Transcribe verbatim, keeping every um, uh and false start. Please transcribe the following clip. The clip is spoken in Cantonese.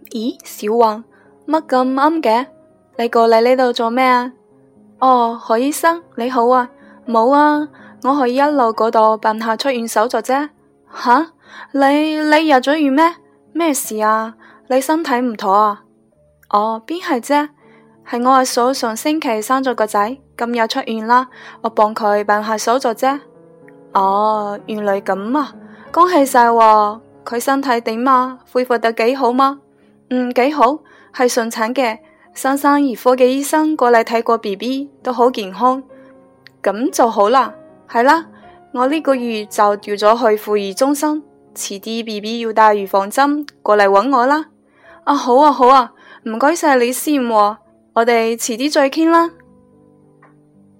咦，小雲，乜咁啱嘅？你過嚟呢度做咩啊？哦，何醫生你好啊，冇啊，我去一路嗰度辦下出院手續啫。吓，你你入咗院咩？咩事啊？你身體唔妥啊？哦，邊係啫？係我阿嫂上星期生咗個仔，今日出院啦，我幫佢辦下手續啫。哦，原來咁啊，恭喜晒喎！佢身體點啊？恢復得幾好嗎？嗯，幾好，係順產嘅。新生兒科嘅醫生過嚟睇過 B B， 都好健康，咁就好啦。係啦，我呢個月就調咗去婦兒中心，遲啲 B B 要打預防針，過嚟搵我啦。啊，好啊好啊，唔該晒你先喎，我哋遲啲再傾啦。